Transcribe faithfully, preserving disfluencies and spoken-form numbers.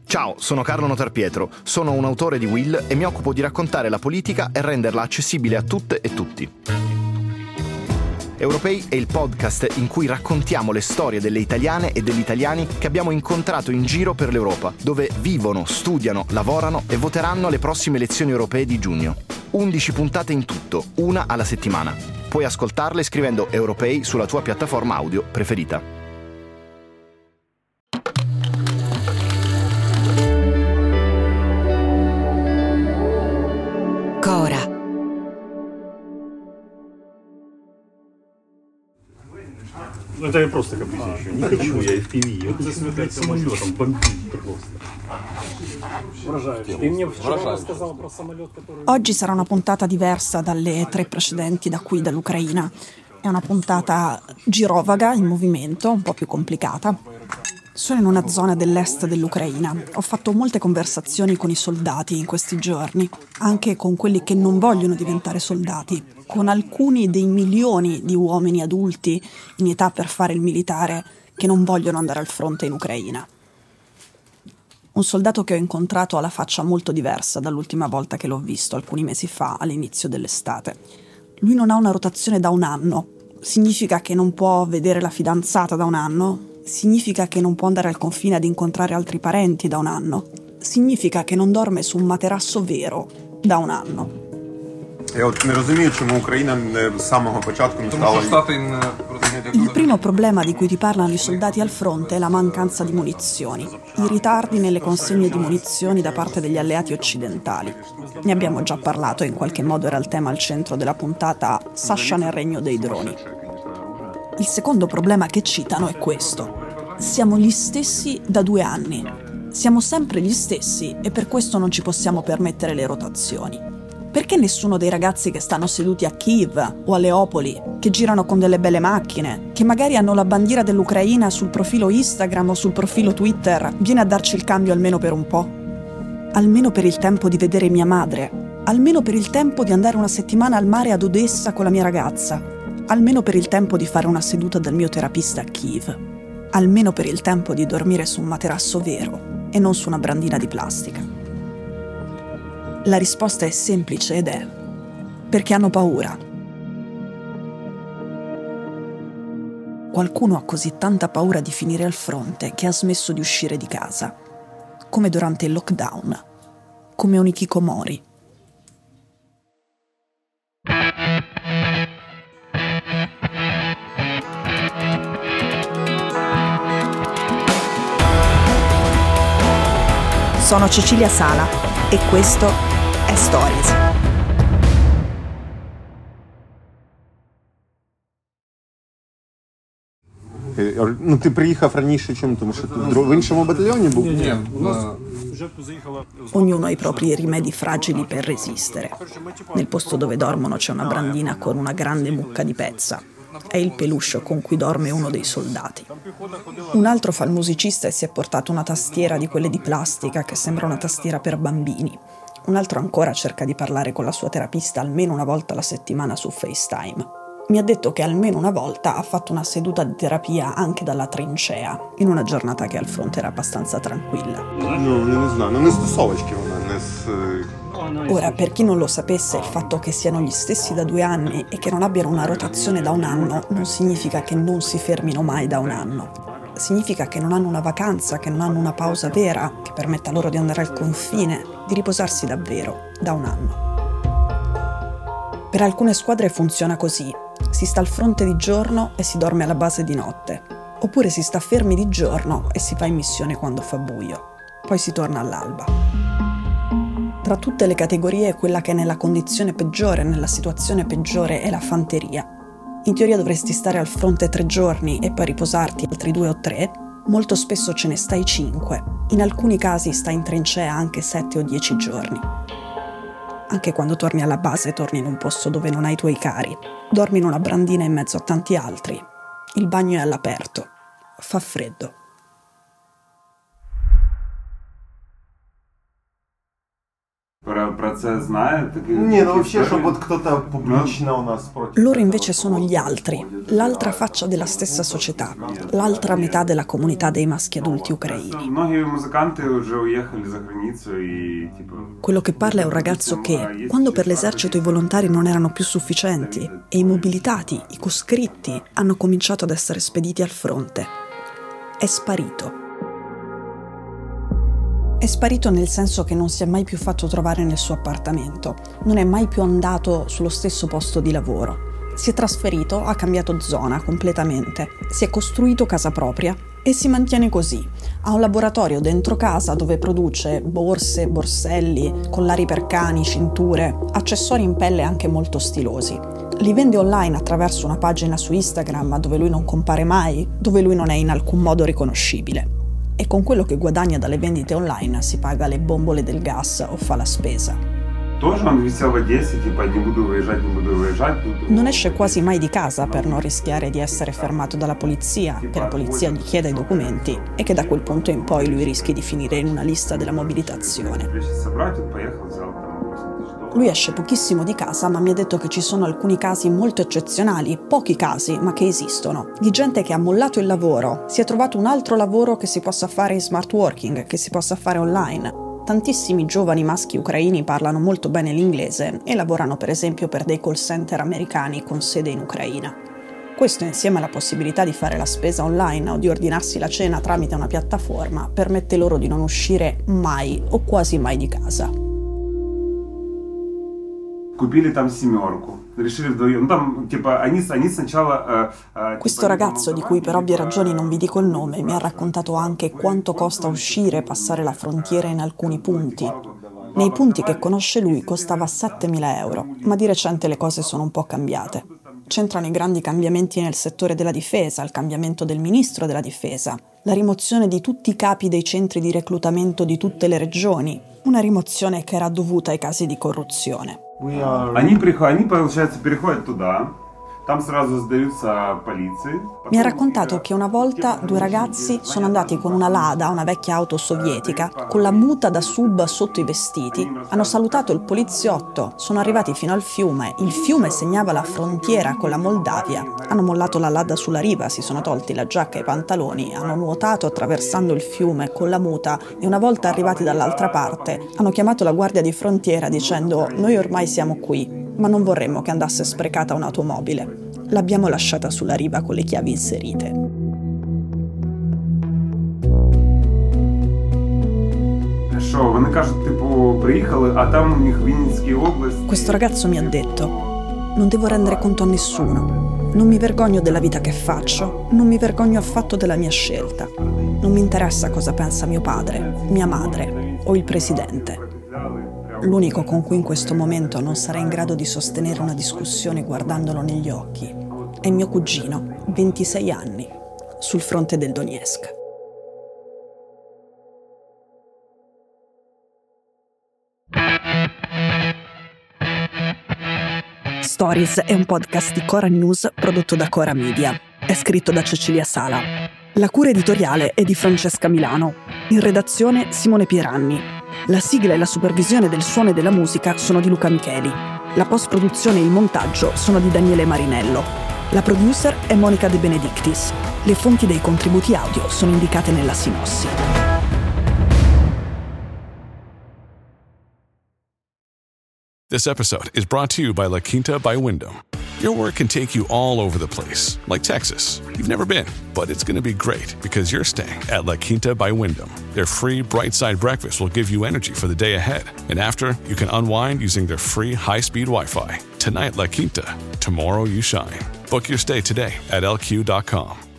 Ciao, sono Carlo Notarpietro, sono un autore di Will e mi occupo di raccontare la politica e renderla accessibile a tutte e tutti. Europei è il podcast in cui raccontiamo le storie delle italiane e degli italiani che abbiamo incontrato in giro per l'Europa, dove vivono, studiano, lavorano e voteranno alle prossime elezioni europee di giugno. undici puntate in tutto, una alla settimana. Puoi ascoltarle scrivendo Europei sulla tua piattaforma audio preferita. Cora. Ну, это я просто capisci еще. Не хочу я эф пи ви. Вот за смерть самолетом бомбить просто. Ты мне вчера рассказал про самолет, который... Oggi sarà una puntata diversa dalle tre precedenti da qui, dall'Ucraina. È una puntata girovaga, in movimento, un po' più complicata. Sono in una zona dell'est dell'Ucraina. Ho fatto molte conversazioni con i soldati in questi giorni, anche con quelli che non vogliono diventare soldati, con alcuni dei milioni di uomini adulti in età per fare il militare che non vogliono andare al fronte in Ucraina. Un soldato che ho incontrato ha la faccia molto diversa dall'ultima volta che l'ho visto, alcuni mesi fa, all'inizio dell'estate. Lui non ha una rotazione da un anno. Significa che non può vedere la fidanzata da un anno? Significa che non può andare al confine ad incontrare altri parenti da un anno? Significa che non dorme su un materasso vero da un anno? Я от не розумію, чому Україна з самого початку не стала... Il primo problema di cui ti parlano i soldati al fronte è la mancanza di munizioni, i ritardi nelle consegne di munizioni da parte degli alleati occidentali. Ne abbiamo già parlato, in qualche modo era il tema al centro della puntata Sasha nel regno dei droni. Il secondo problema che citano è questo. Siamo gli stessi da due anni. Siamo sempre gli stessi e per questo non ci possiamo permettere le rotazioni. Perché nessuno dei ragazzi che stanno seduti a Kiev o a Leopoli, che girano con delle belle macchine, che magari hanno la bandiera dell'Ucraina sul profilo Instagram o sul profilo Twitter, viene a darci il cambio almeno per un po'? Almeno per il tempo di vedere mia madre, almeno per il tempo di andare una settimana al mare ad Odessa con la mia ragazza, almeno per il tempo di fare una seduta dal mio terapista a Kiev, almeno per il tempo di dormire su un materasso vero e non su una brandina di plastica. La risposta è semplice ed è perché hanno paura. Qualcuno ha così tanta paura di finire al fronte che ha smesso di uscire di casa, come durante il lockdown, come un hikikomori. Sono Cecilia Sala e questo è Stories. Ну, ти приїхав раніше, чим? Тому що ти в іншому батальйоні був? Ні, Ognuno ha i propri rimedi fragili per resistere. Nel posto dove dormono c'è una brandina con una grande mucca di pezza. È il peluche con cui dorme uno dei soldati. Un altro fa il musicista e si è portato una tastiera di quelle di plastica che sembra una tastiera per bambini. Un altro ancora cerca di parlare con la sua terapista almeno una volta alla settimana su FaceTime. Mi ha detto che almeno una volta ha fatto una seduta di terapia anche dalla trincea, in una giornata che al fronte era abbastanza tranquilla. Ну, я не знаю, ну не з тусовочки вона, не з... Ora, per chi non lo sapesse, il fatto che siano gli stessi da due anni e che non abbiano una rotazione da un anno non significa che non si fermino mai da un anno. Significa che non hanno una vacanza, che non hanno una pausa vera che permetta loro di andare al confine, di riposarsi davvero da un anno. Per alcune squadre funziona così. Si sta al fronte di giorno e si dorme alla base di notte. Oppure si sta fermi di giorno e si va in missione quando fa buio. Poi si torna all'alba. Tra tutte le categorie, quella che è nella condizione peggiore, nella situazione peggiore, è la fanteria. In teoria dovresti stare al fronte tre giorni e poi riposarti altri due o tre. Molto spesso ce ne stai cinque. In alcuni casi stai in trincea anche sette o dieci giorni. Anche quando torni alla base, torni in un posto dove non hai i tuoi cari. Dormi in una brandina in mezzo a tanti altri. Il bagno è all'aperto. Fa freddo. Про про це знає? Ні, ну вообще, щоб от кто-то публічно у нас проти. Loro invece sono gli altri, l'altra faccia della stessa società, l'altra metà della comunità dei maschi adulti ucraini. Многі музиканти вже уїхали за границю і типу. Quello che parla è un ragazzo che, quando per l'esercito i volontari non erano più sufficienti e i mobilitati, i coscritti, hanno cominciato ad essere spediti al fronte, è sparito. È sparito nel senso che non si è mai più fatto trovare nel suo appartamento, non è mai più andato sullo stesso posto di lavoro. Si è trasferito, ha cambiato zona completamente, si è costruito casa propria e si mantiene così. Ha un laboratorio dentro casa dove produce borse, borselli, collari per cani, cinture, accessori in pelle anche molto stilosi. Li vende online attraverso una pagina su Instagram dove lui non compare mai, dove lui non è in alcun modo riconoscibile. E con quello che guadagna dalle vendite online si paga le bombole del gas o fa la spesa. Non esce quasi mai di casa per non rischiare di essere fermato dalla polizia, che la polizia gli chieda i documenti e che da quel punto in poi lui rischi di finire in una lista della mobilitazione. Lui esce pochissimo di casa, ma mi ha detto che ci sono alcuni casi molto eccezionali, pochi casi, ma che esistono, di gente che ha mollato il lavoro, si è trovato un altro lavoro che si possa fare in smart working, che si possa fare online. Tantissimi giovani maschi ucraini parlano molto bene l'inglese e lavorano per esempio per dei call center americani con sede in Ucraina. Questo, insieme alla possibilità di fare la spesa online o di ordinarsi la cena tramite una piattaforma, permette loro di non uscire mai o quasi mai di casa. Купили там семерку. Решили вдвоем. Там, типа, они, они сначала... Questo ragazzo, di cui per ovvie ragioni non vi dico il nome, mi ha raccontato anche quanto costa uscire e passare la frontiera in alcuni punti. Nei punti che conosce lui costava settemila euro, ma di recente le cose sono un po' cambiate. C'entrano i grandi cambiamenti nel settore della difesa, il cambiamento del ministro della difesa, la rimozione di tutti i capi dei centri di reclutamento di tutte le regioni, una rimozione che era dovuta ai casi di corruzione. Они приходят, они, получается, переходят туда, там сразу сдаются полиции. Mi ha raccontato che una volta due ragazzi sono andati con una Lada, una vecchia auto sovietica, con la muta da sub sotto i vestiti, hanno salutato il poliziotto, sono arrivati fino al fiume, il fiume segnava la frontiera con la Moldavia, hanno mollato la Lada sulla riva, si sono tolti la giacca e i pantaloni, hanno nuotato attraversando il fiume con la muta e una volta arrivati dall'altra parte hanno chiamato la guardia di frontiera dicendo «Noi ormai siamo qui, ma non vorremmo che andasse sprecata un'automobile». L'abbiamo lasciata sulla riva con le chiavi inserite. Що, вони кажуть, типу, приїхали, а там у них Вінницька область. Questo ragazzo mi ha detto: non devo rendere conto a nessuno. Non mi vergogno della vita che faccio, non mi vergogno affatto della mia scelta. Non mi interessa cosa pensa mio padre, mia madre o il presidente. L'unico con cui in questo momento non sarei in grado di sostenere una discussione guardandolo negli occhi è mio cugino, ventisei anni, sul fronte del Donetsk. Stories è un podcast di Cora News prodotto da Cora Media. È scritto da Cecilia Sala. La cura editoriale è di Francesca Milano. In redazione Simone Pieranni. La sigla e la supervisione del suono e della musica sono di Luca Micheli. La post-produzione e il montaggio sono di Daniele Marinello. La producer è Monica De Benedictis. Le fonti dei contributi audio sono indicate nella sinossi. This episode is brought to you by La Quinta by Wyndham. Your work can take you all over the place, like Texas. You've never been, but it's going to be great because you're staying at La Quinta by Wyndham. Their free Bright Side breakfast will give you energy for the day ahead. And after, you can unwind using their free high-speed Wi-Fi. Tonight, La Quinta. Tomorrow, you shine. Book your stay today at L Q dot com.